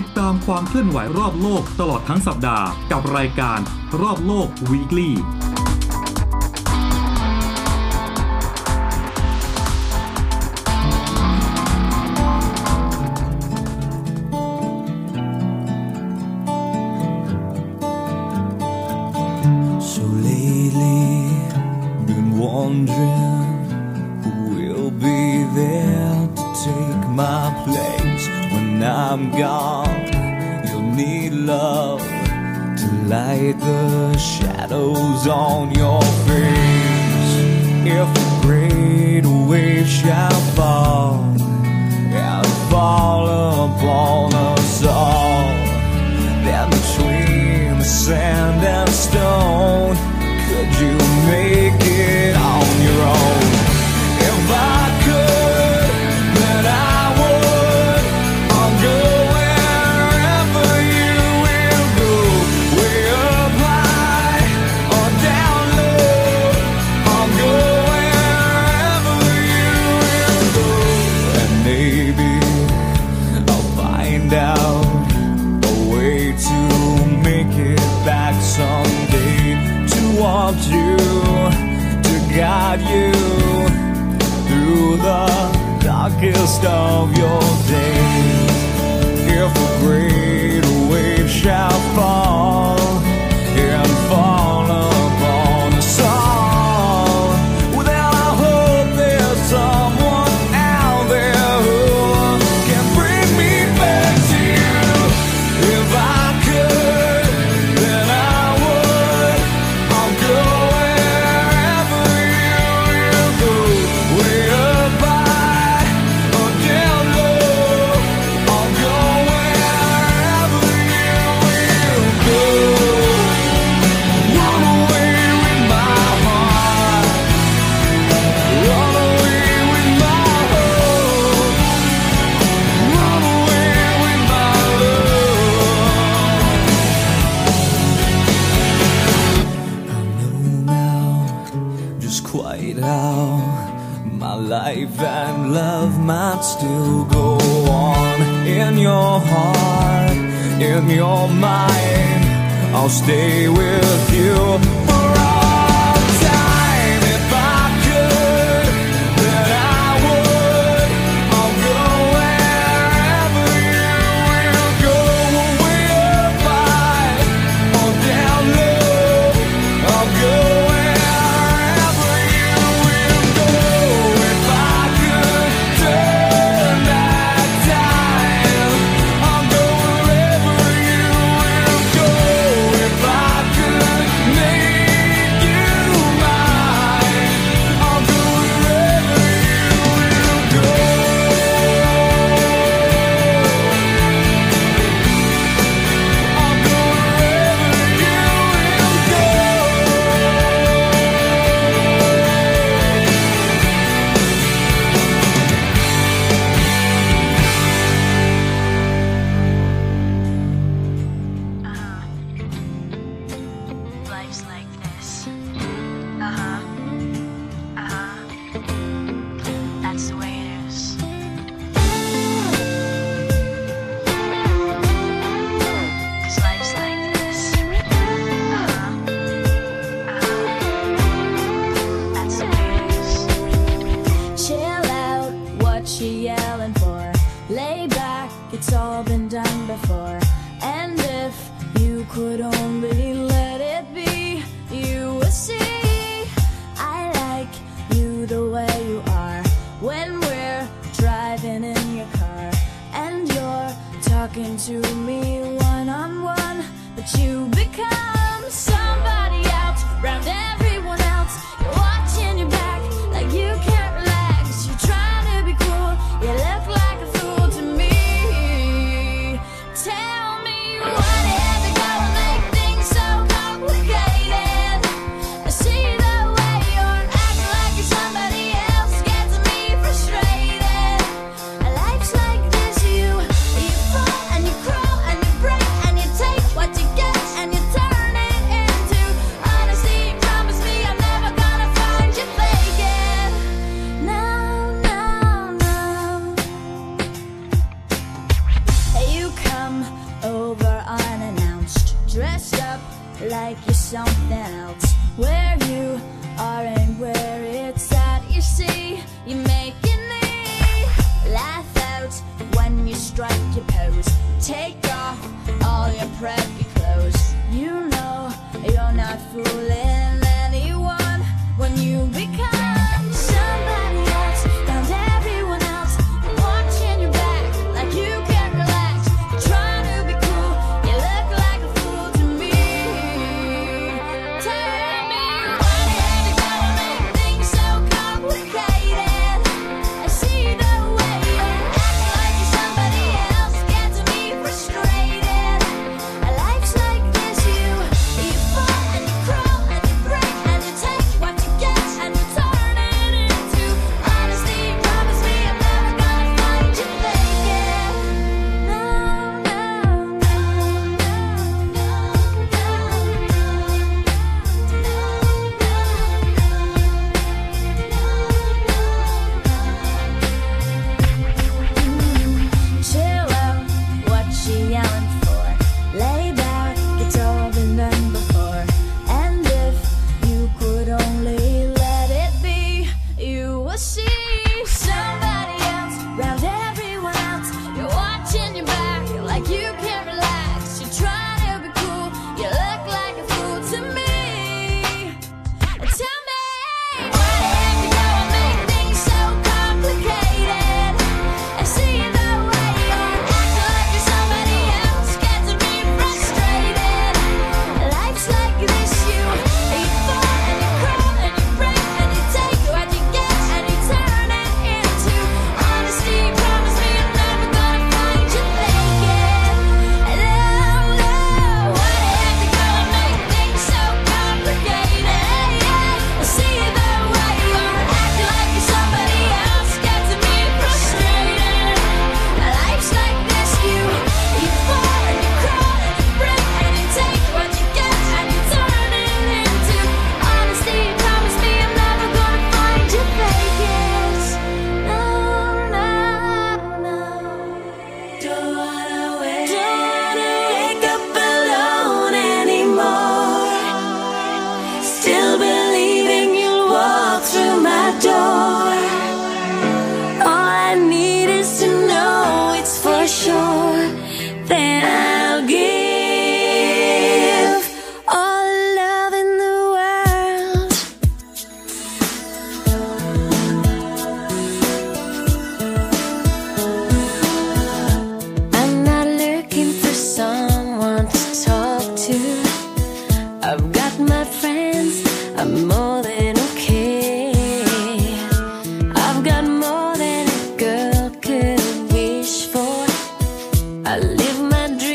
ดตามความเคลื่อนไหวรอบโลกตลอดทั้งสัปดาห์กับรายการรอบโลก Weekly wondering who will be there to take my place when I'm gone. You'll need love to light the shadows on your face. If a great wave shall fall and fall upon us all, then between the sand and stone, could you make it on your own? If I could, then I would. I'll go wherever you will go, way up high or down low. I'll go wherever you will go, and maybe I'll find out a way to make it back someday. Want you to guide you through the darkest of your days. If a great wave shall fall and fall upon us all, well, then I hope there's someone out there who can bring me back to you. If I could, then I life and love might still go on. In your heart, in your mind, I'll stay with you for all time. If I could, then I would. I'll go wherever you will go, way up high or down low. I'll go to me one-on-one, but you become somebody else round everyone else. You're watching your back like you can't relax. You're trying to be cool, you look like a fool to me. Tell me what is it gonna make things so complicated? I see the way you're acting like you're somebody else, gets me frustrated. Life's like this, you fall and you crawl and you break and you take what you get and you turn like you're something else. Where you are and where it's at, you see, you're making me laugh out when you strike your pose. Take off all your preppy clothes. You know you're not fooling anyone when you become somebody else. Found everyone else watching your back like you can't relax. You're trying to be cool, you look like a fool to me. Tell me, why did you go and make things so complicated? I see the way you act like you're somebody else, gets me frustrated. Life's like this, you fall and you crawl and you break and you take what you get and you turn it into honesty. Promise me I'm never gonna find you faking. No, no, no, chill out, what you yelling for? Lay back, it's all been done before. And if you could only let it be, you will see somebody else round everyone else. You're watching your back like you can't relax. You're trying to be cool, you look like a fool to me. Tell me, why did you go and make things so complicated? I see the way you act like you're somebody else, gets me frustrated. Life's like this, you fall and you crawl and you break and you take what you get and you turn it into honesty. Promise me I'm never gonna find you faking. No, no, why did you go and make things so complicated? I see the way you act like you're somebody else, gets me frustrated. Life's like this, you fall and you crawl and you break and you take what you get and you turn it into honesty. Promise me I'm never gonna find you faking. No, no, no. Don't wanna wake up alone anymore. Still believing you'll walk through my door. All I need is to know it's for sure. Then I'll give all the love in the world. I'm not looking for someone to talk to. I've got my friends, I'm more than okay. I've got more than a girl could wish for. I live my dream.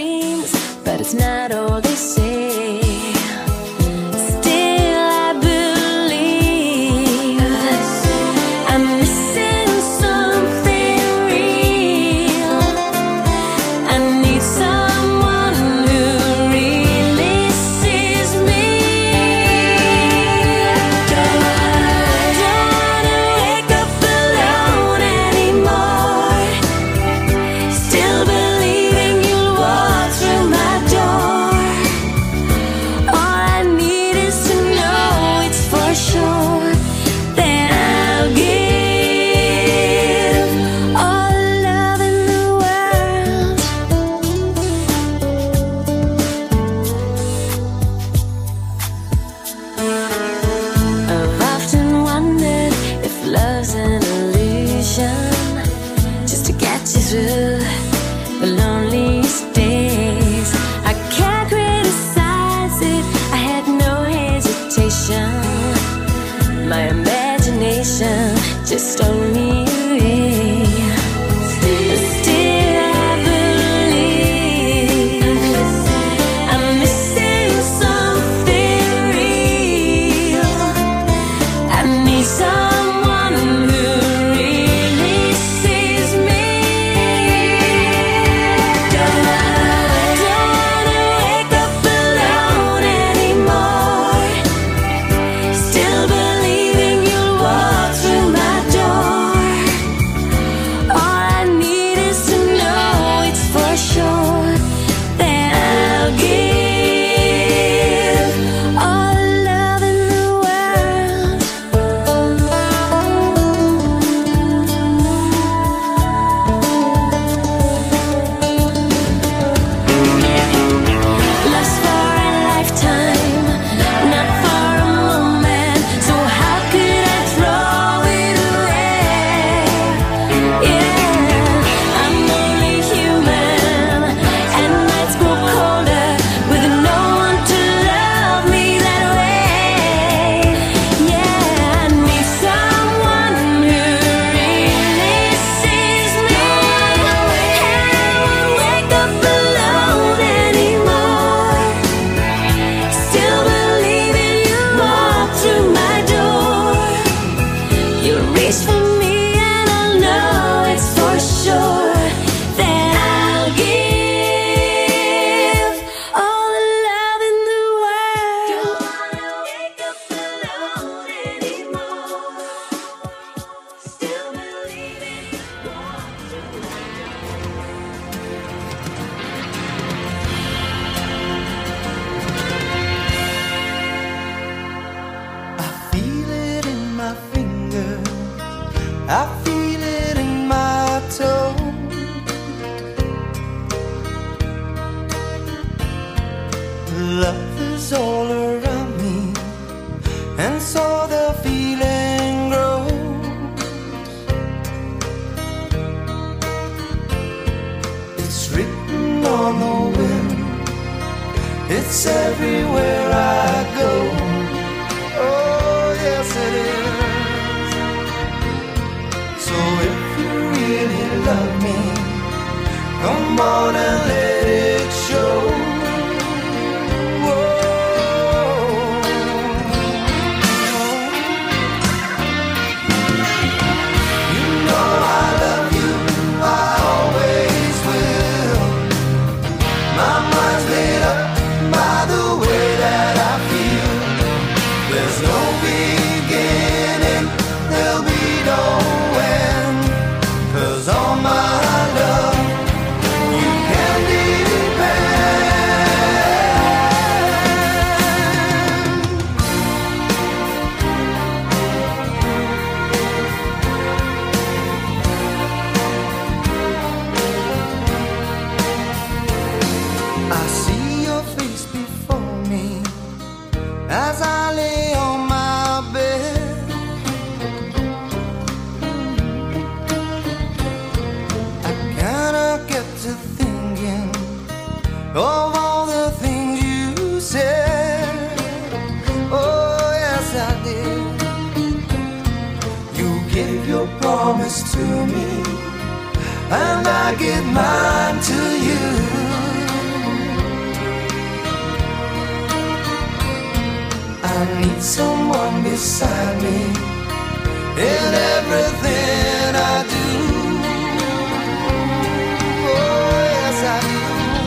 love is all around me, and so the feeling grows. It's written on the wind, it's everywhere I go. Oh yes it is. So if you really love me, come on and let it show. Of all the things you said, oh yes I did. You gave your promise to me, and I give mine to you. I need someone beside me in everything I do. Oh yes I do.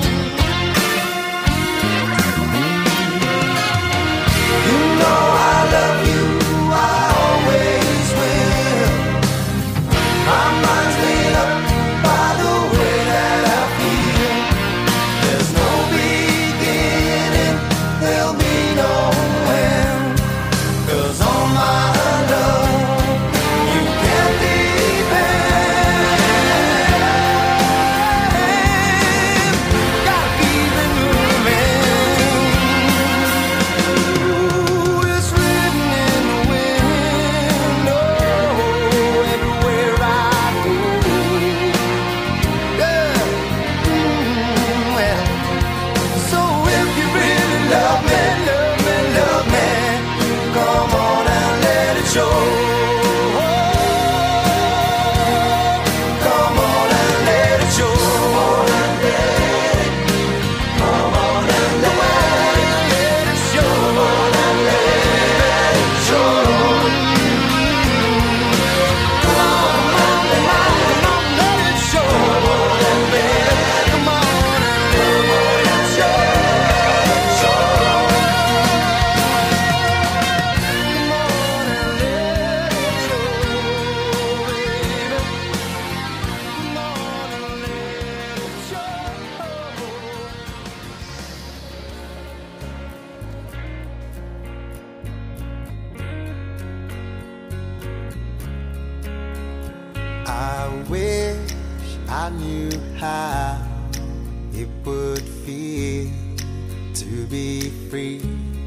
I wish I knew how it would feel to be free.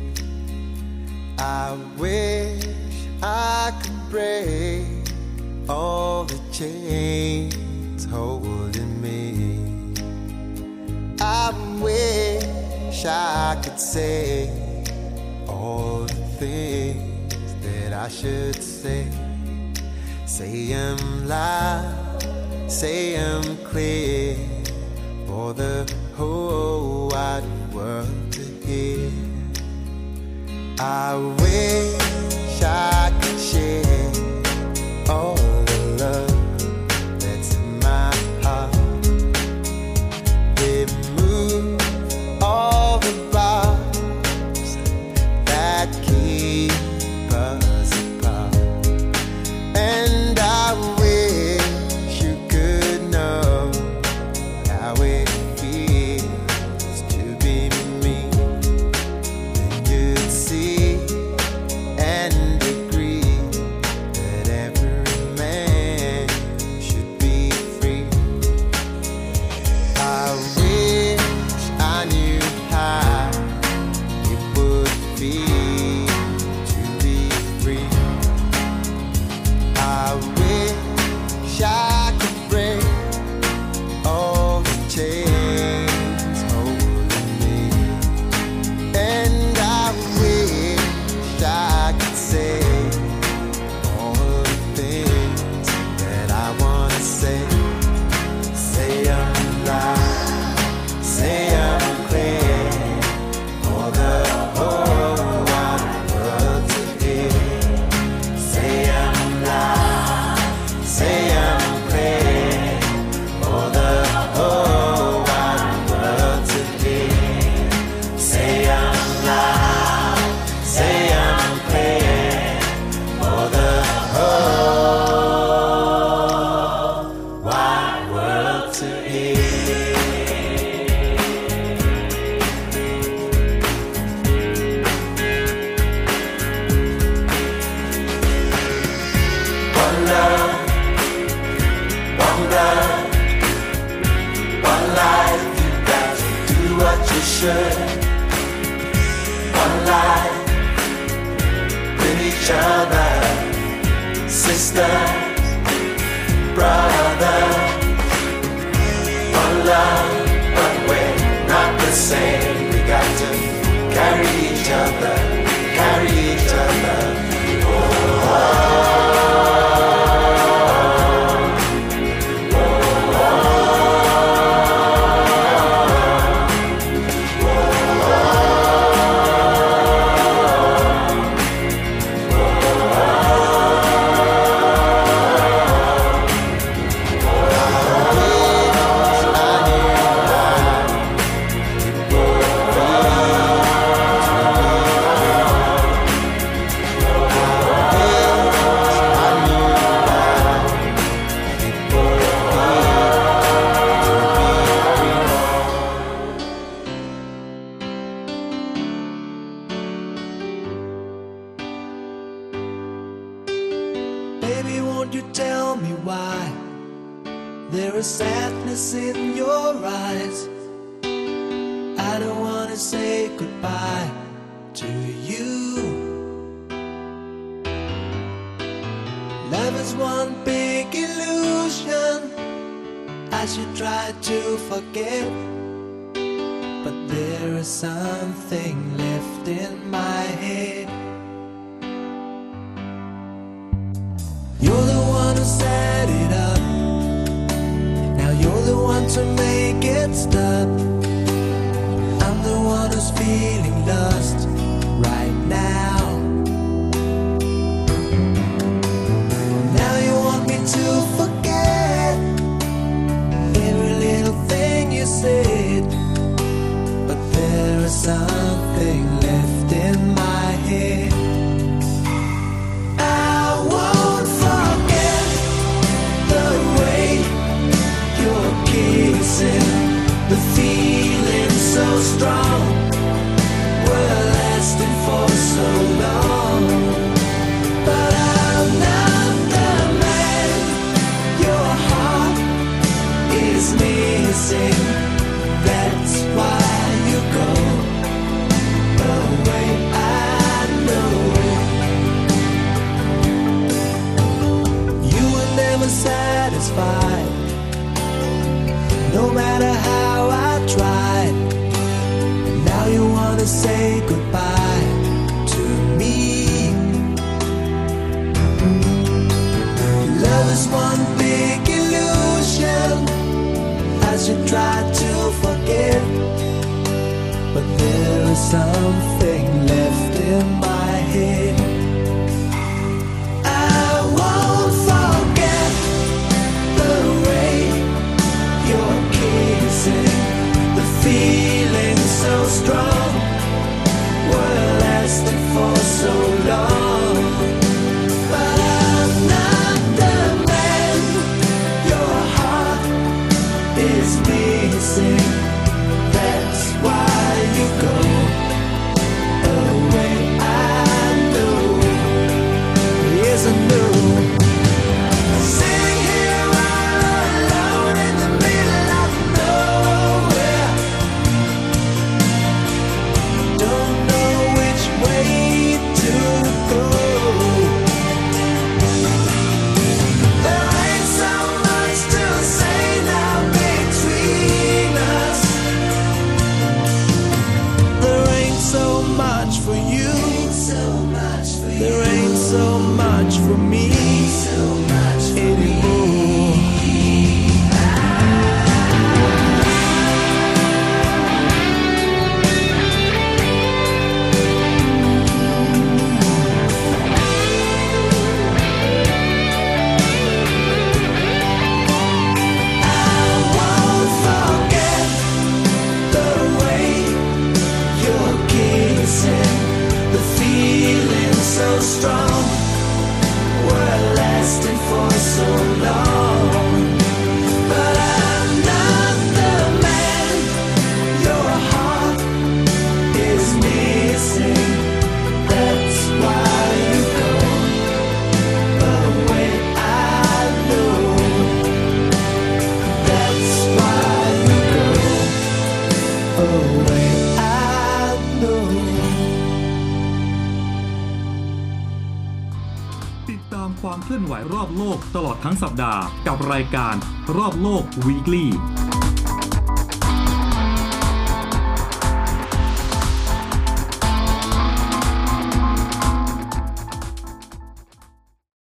I wish I could break all the chains holding me. I wish I could say all the things that I should say. Say 'em loud, say 'em clear, for the whole wide world to hear. I wish I could share all the love that's in my heart. Remove all the bars that keep us apart. And I wish you could know how it feels to be me. Then you'd see and agree that every man should be free. I wish I knew how stood one life with each other, sisters, brothers, one love, but we're not the same. We got to carry each other, carry each other. Baby, won't you tell me why there is sadness in your eyes? I don't wanna say goodbye to you. Love is one big illusion I should try to forget, but there is something left in my head. You're the one who set it up. Now you're the one to make it stop. I'm the one who's feeling lost right now. Now you want me to forget every little thing you said, but there is something left in my head. The feeling so strong, we're lasting for so long. But I'm not the man your heart is missing. That's why you go away, I know. You were never satisfied, no matter how I tried. Now you wanna say goodbye to me. Love is one big illusion I should try to forget, but there is something left in my head. I won't forget the way you're kissing, the feeling so strong, we're lasting for so long. But I'm not the man your heart is missing. That's why you go away, I know. Yes, I know. Sitting here all alone in the middle of nowhere, don't know which way to go. There ain't so much to say now between us. There ain't so much for you. There ain't so much for me anymore. So strong, we're lasting for so long. But I'm not the man your heart is missing. That's why you go away, I know. That's why you go away, ามความเคลื่อนไหวรอบโลกตลอดทั้งสัปดาห์กับรายการรอบโลก Weekly